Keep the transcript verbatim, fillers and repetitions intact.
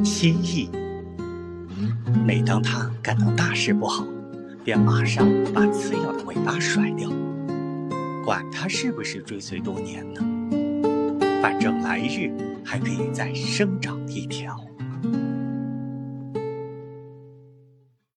蜥蜴，每当它感到大事不好，便马上把刺咬的尾巴甩掉，管它是不是追随多年呢，反正来日还可以再生长一条。